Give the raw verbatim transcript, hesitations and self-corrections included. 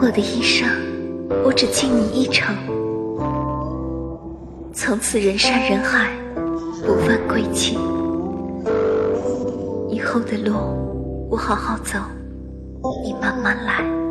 我的一生，我只敬你一程。从此人山人海，不问归期。以后的路，我好好走，你慢慢来。